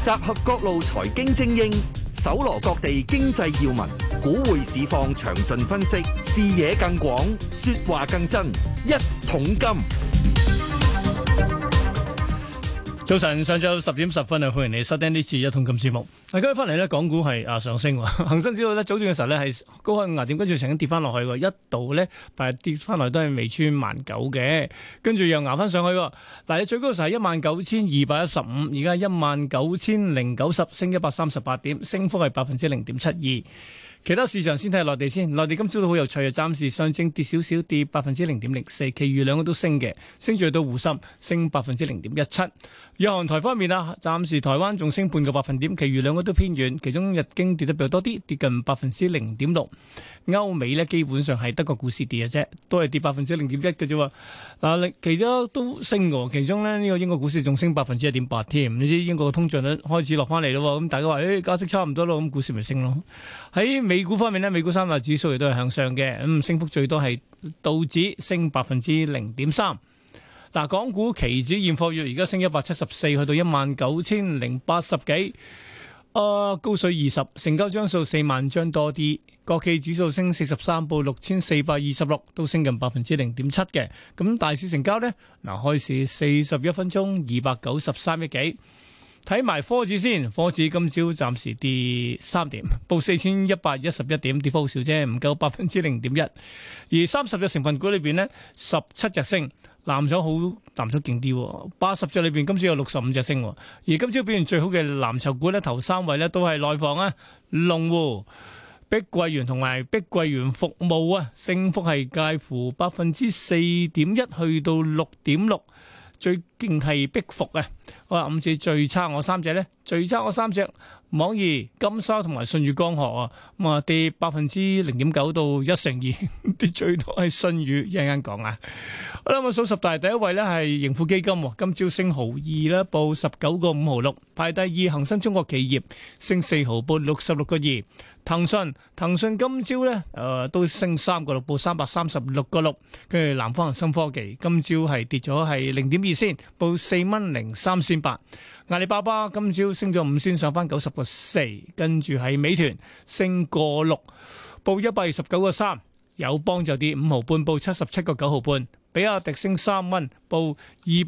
集合各路財經精英，搜羅各地經濟要聞，股匯市況詳盡分析，視野更廣，說話更真。一桶金。 早晨，上晝10點10分啊，歡迎你收聽呢次一桶金節目。嗱，今日翻嚟咧，港股係上升，恒生指數咧早段嘅時候咧係高開5點，跟住曾經跌翻落去，一度咧但係跌翻嚟都係未穿19,000嘅，跟住又熬翻上去。嗱，你最高嘅時候係19,215，而家19,090，升138點，升幅係0.72%。其他市場先睇下內地先，內地今朝都好有趣啊，暫時上證跌少少，跌0.04%，其餘兩個都升嘅，升住到滬深升0.17%。日韓台方面啊，暫時台灣仲升半個百分點，其餘兩個都偏軟，其中日經跌得比較多啲，跌近0.6%。歐美呢基本上係德國股市跌嘅啫，都係跌0.01%嘅啫。嗱，其他都升嘅，其中呢個英國股市仲升1.8%添。你知英國嘅通脹率開始落翻嚟咯，咁大家話加息差唔多咯，咁股市咪升咯。喺美股方面呢，美股三大指數亦都係向上嘅，升幅最多係道指升0.3%。嗱，港股期指現貨月而家升174，去到19,080幾，高水20，成交張數4萬張多啲。國企指數升43，報6,426，都升近0.7%嘅。咁大市成交呢，嗱，開市41分鐘293億幾。睇埋科指先，科指今朝暫時跌3點，報4,111點，跌幅好少啫，唔夠0.1%。而30隻成分股裏邊呢，17隻升，藍籌勁啲，80隻裏邊今朝有65隻升。而今朝表現最好嘅藍籌股呢，頭3位呢都係內房啊，龍湖、碧桂園同埋碧桂園服務啊，升幅係介乎4.1%去到6.6%。最勁係碧服啊！我話5隻最差我3隻咧，最差我3隻網易、金沙同埋舜宇光學啊，咁啊跌0.9%到1%，跌最多係舜宇，一陣間講啊。好啦，我數十大第一位咧係盈富基金，今朝升毫2啦，報19個5毫6。排第二恒生中國企業升4毫，報66個2。騰訊今朝咧都升3個6，報336個6。跟住南方恒生科技今朝係跌咗係0.2仙，報4蚊03仙8。阿里巴巴今朝升咗5仙，上翻90個4。跟住係美團升個6，報129個3。友邦就跌5毫半，報77個9毫半。比亞迪升3蚊，報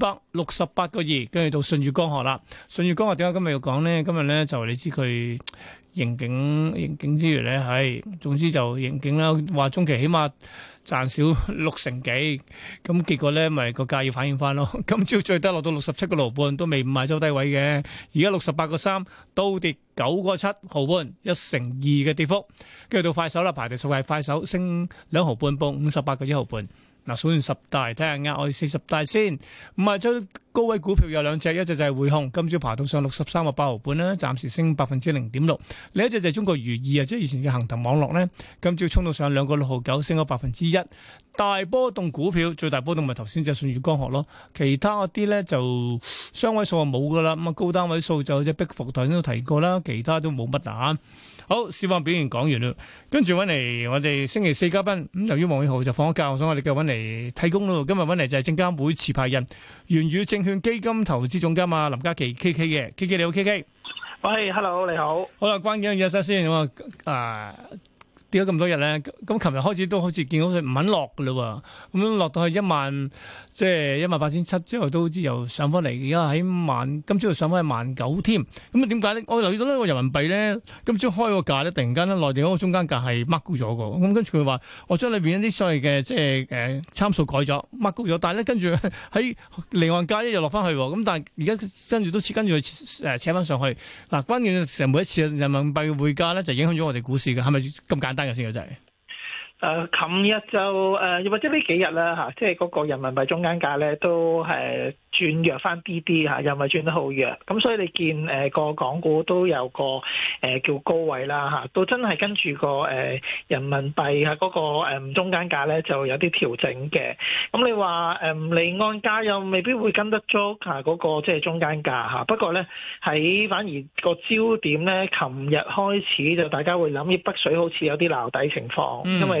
268個2。跟住到舜宇光學啦，舜宇光學點解今日要講呢？今日咧就你知佢盈警之餘咧，總之就盈警啦，話中期起碼賺少6成幾，咁結果咧咪個價要反映翻咯。今朝最低落到67個6毫半，都未賣周低位嘅，而家68個3，都跌9個7毫半，1%2嘅跌幅。跟住到快手啦，排第10係快手，升2毫半，報58個1毫半。嗱，數完十大，睇下額外40大先。賣出高位股票有兩隻，一隻就係匯控，今朝爬到上63個8毫半啦，暫時升0.6%。另一隻就係中國如意啊，即係以前嘅恒騰網絡咧，今朝衝到上2個6毫9，升咗1%。大波動股票最大波動咪頭先就舜宇光學咯，其他嗰啲咧就雙位數就冇噶啦，咁啊高單位數就隻碧服頭先都提過啦，其他都冇乜啊。好，市況表現講完啦，跟住揾嚟我哋星期四嘉賓，咁由於黃偉豪就放咗假，所以我哋繼續揾嚟替工咯。今日揾嚟就係證監會持牌人、元宇證券基金投資總監啊林嘉麒 K K 嘅 K K， 你好 K K。 喂，hello， 你好。 好啦，關鍵嘅嘢先咁跌咗咁多日咧，咁琴日開始都好似見到佢唔肯落噶啦，咁落到去10000，即係18700之後都好似又上翻嚟，而家喺今朝又上翻去19000添。咁啊點解咧？我留意到呢個人民幣咧，今朝開個價咧，突然間咧內地嗰個中間價係 mark 高咗個，咁跟住佢話我將裏邊一啲所謂嘅即係參數改咗 mark 高咗，但係咧跟住喺離岸價又落翻去，咁但係而家跟住佢扯翻上去。嗱，關鍵成每一次人民幣匯價咧就影響咗我哋股市嘅，係咪咁簡單嘅先嘅真係？ 琴日就又或者呢幾日啦嚇，即係嗰個人民幣中間價咧都轉弱翻啲啲嚇，又唔係轉得好弱，咁所以你見個港股都有個叫高位啦嚇，都真係跟住個人民幣嗰個中間價咧就有啲調整嘅。咁你話離岸價又未必會跟得足嗰個即係中間價嚇，不過咧喺反而個焦點咧，琴日開始就大家會諗，北水好似有啲撈底情況，因為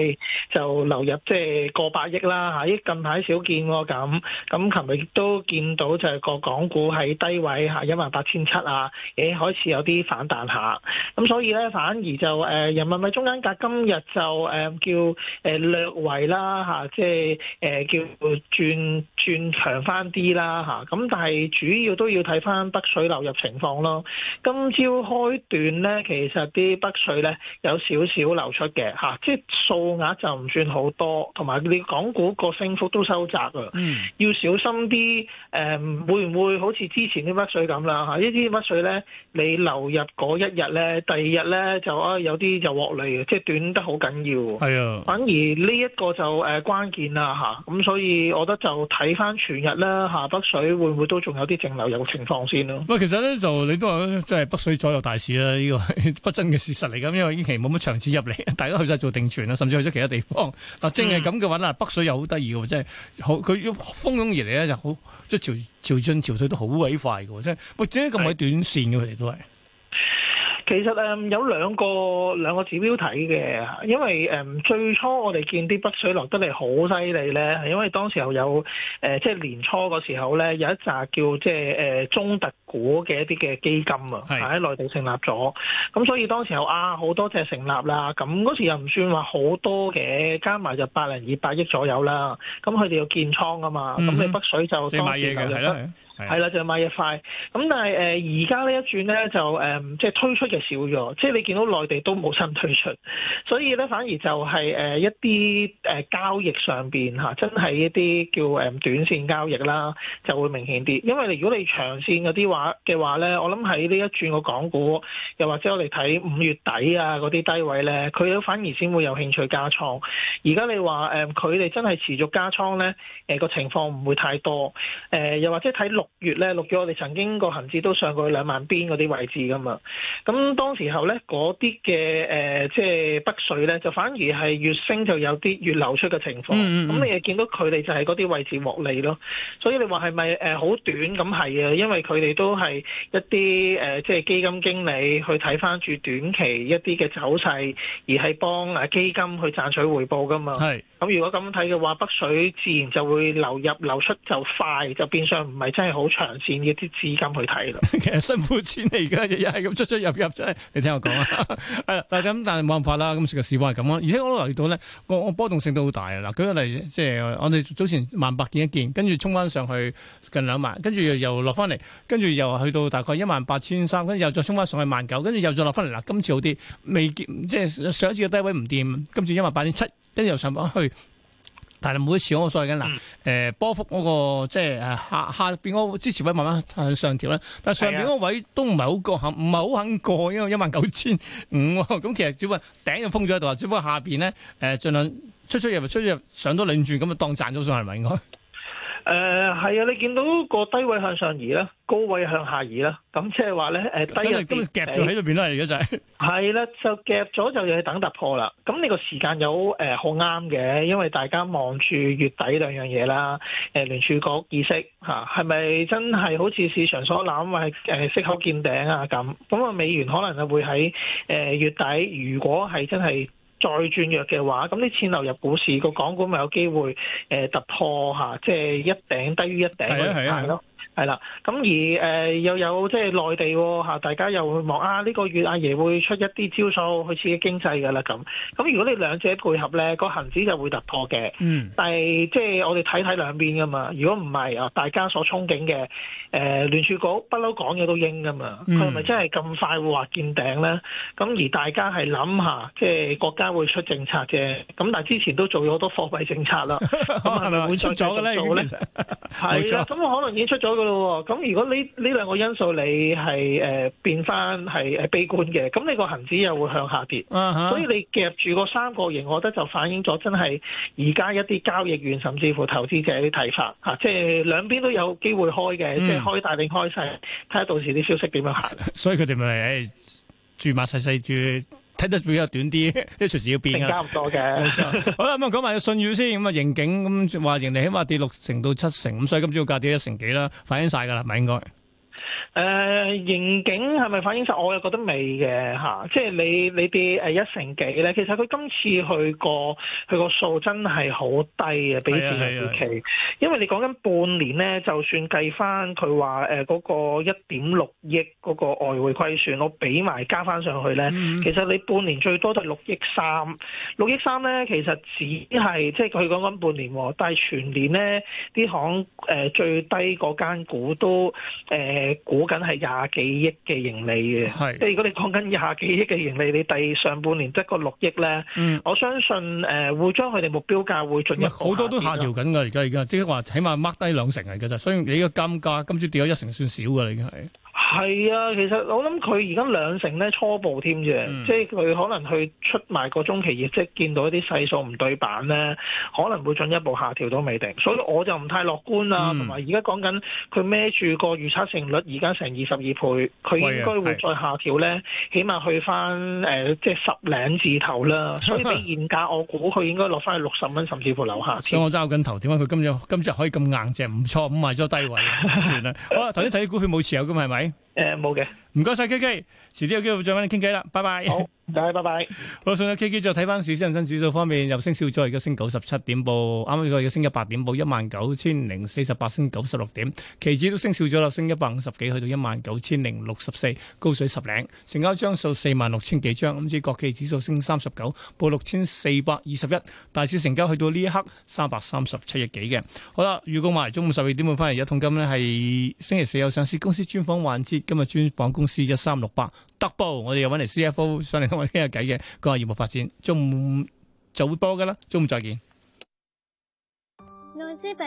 係就流入即係過百億啦嚇，依近排少見喎咁。咁琴日亦都見到就係個港股喺低位嚇18,700啊，開始有啲反彈下。咁所以咧反而就人民幣中間價今日就叫略為啦嚇，即係叫轉強翻啲啦嚇。咁但係主要都要睇翻北水流入情況咯。今朝開段咧，其實啲北水咧有少少流出嘅嚇，即係數額就唔算好多，同埋你港股個升幅都收窄啊。要小心啲會唔會好似之前啲北水咁啦嚇？呢啲北水咧，你流入嗰一日咧，第二日咧就有啲就獲利嘅，即係短得好緊要。係啊，反而呢一個就關鍵啦嚇。咁所以我覺得就睇翻全日啦嚇，北水會唔會都仲有啲淨流入嘅情況先咯？ 其實咧就你都話即係北水左右大市啦，呢個係不爭嘅事實嚟㗎。因為呢期冇乜長線入嚟，大家去晒做定存啦，甚至去咗其他地方。嗱，正係咁嘅話啦，北水又好得意嘅，即係好佢要蜂擁而嚟咧，就好即係潮進潮退都好鬼快嘅，即係喂點解咁鬼短線嘅佢哋都係。 其實有兩個指標睇嘅，因為最初我哋見啲北水落得嚟好犀利咧，係因為當時候有即係年初嗰時候咧有一紮叫即係中特股嘅一啲嘅基金啊，喺內地成立咗，咁所以當時候好多隻成立啦，咁嗰時又唔算話好多嘅，加埋就200億左右啦，咁佢哋要建倉啊嘛，咁你北水就當時流入得。係啦，就買一塊。咁但係而家呢一轉咧就即係推出嘅少咗，即係你見到內地都冇新推出，所以咧反而就係一啲交易上邊嚇，真係一啲叫短線交易啦，就會明顯啲。因為如果你長線嗰啲嘅話咧，我諗喺呢一轉個港股，又或者我哋睇5月底啊嗰啲低位咧，佢都反而先會有興趣加倉。而家你話佢哋真係持續加倉咧，個情況唔會太多。又或者睇6月我哋曾經個恆指都上過2萬邊嗰啲位置噶嘛，咁當時候咧嗰啲嘅即係北水咧就反而係越升就有啲越流出嘅情況，咁你又見到佢哋就係嗰啲位置獲利咯，所以你話係咪好短咁係啊？因為佢哋都係一啲即係基金經理去睇翻住短期一啲嘅走勢，而係幫基金去賺取回報噶嘛。係。咁如果咁睇嘅話，北水自然就會流入流出就快，就變相唔係真係好長線嘅啲資金去睇啦。其實辛苦錢嚟㗎，日日係咁出出入入，真係你聽我講啊。係但係冇辦法啦。咁個市況係咁咯。而且我都留意到咧，個波動性都好大啊。嗱，舉個例，即係我哋早前1,800見一見，跟住衝翻上去近2萬，跟住又落翻嚟，跟住又去到大概18,300，跟住又再衝翻上去1,900，跟住又再落翻嚟。嗱，今次好啲，未見即係上一次嘅低位唔掂，今次18,700。跟住又上翻去，但係每一次我所謂緊嗱，波幅嗰個即係下邊嗰個支持位慢慢向上調咧，但係上邊嗰個位都唔係好過，唔係好肯過，因為19,500喎。咁其實只不過頂就封咗喺度，只不過下邊咧盡量出入上多兩轉咁啊，當賺咗上係咪應該？係啊，你見到個低位向上移啦，高位向下移啦，咁即係話咧低入啲夾住喺度邊啦，而家就係係啦，就夾咗就要等突破啦。咁你個時間有好啱嘅，因為大家望住月底兩樣嘢啦，聯儲局議息嚇係咪真係好似市場所諗話係息口見頂啊咁啊？美元可能就會喺月底，如果係真係再轉弱嘅話，咁啲錢流入股市，個港股咪有機會突破嚇，即係一頂低於一頂嗰個價咯。係啦，咁而又有即係內地嚇，大家又會望呢個月阿爺會出一啲招數去刺激經濟㗎啦咁。咁如果你兩者配合咧，個恆指就會突破嘅。但係即係我哋睇兩邊㗎嘛。如果唔係大家所憧憬嘅聯儲局不嬲講嘢都應㗎嘛。佢係咪真係咁快會話見頂咧？咁而大家係諗下，即係國家會出政策啫。咁但係之前都做咗好多貨幣政策啦。咁係咪會出咗嘅咧？係啊，咁我可能已經出咗㗎。咁如果呢兩個因素你係變翻係悲觀嘅，咁你個恆指又會向下跌，所以你夾住個三角形，我覺得就反映咗真係而家一啲交易員甚至乎投資者啲睇法嚇，即係兩邊都有機會開嘅，即係開大定開細，睇下到時啲消息點樣行。所以佢哋咪注碼細細注。睇得比較短啲，啲隨時要變啊！差唔多嘅。好啦，咁啊講埋個信譽先，咁啊盈警咁話盈利起碼跌60%到70%，咁所以今朝價跌1成幾啦，反映晒㗎啦，咪應該。 盈警係咪反映晒？我又覺得未嘅嚇，即係你跌1成幾咧，其實佢今次佢個數真係好低啊，比市場預期。因為你講緊半年咧，就算計翻佢話嗰個1.6億嗰個外匯虧損，我俾埋加翻上去咧，其實你半年最多都係6億3，6億3咧，其實只係即係佢講緊半年，但係全年咧啲行最低嗰間股都估緊係廿幾億嘅盈利嘅，即係如果你講緊廿幾億嘅盈利，你第上半年得個6億咧，我相信會將佢哋目標價會進一步好多都下調緊㗎，而家即係話起碼 mark 低2成嚟㗎咋，所以你個金價今朝跌咗1成算少㗎啦，已經係。 係啊，其實我諗佢而家2成咧初步添啫，即係佢可能去出埋個中期業績，見到一啲細數唔對版咧，可能會進一步下調都未定，所以我就唔太樂觀啦。同埋而家講緊佢孭住個預測成率，而家成22倍，佢應該會再下調咧，起碼去翻即係10零字頭啦。所以比現價，我估佢應該落翻去60蚊，甚至乎樓下。 所以我揸緊頭，點解佢今日可以咁硬淨？唔錯，咁賣咗低位，算啦。好啦，頭先睇啲股票冇持有㗎嘛，係咪？ 冇嘅。唔該晒 K K，遲啲有機會再揾你傾偈啦，拜拜。 好，唔該，拜拜。 好，上咗 K K 再睇翻市，恒生指數方面又升少咗，而家升97點報，啱啱再而家升100點報19048，升96點。期指都升少咗啦，升150幾，去到19064，高水10零。成交張數46000幾張，咁至國企指數升39，報6421。大市成交去到呢一刻337億幾嘅。好啦，預告埋中午12點半翻嚟，一桶金呢係星期四有上市公司專訪環節，今日專訪公司1368特步，我哋又揾嚟 CFO 上嚟同我哋傾下偈嘅，講下業務發展。中午就會播噶啦，中午再見。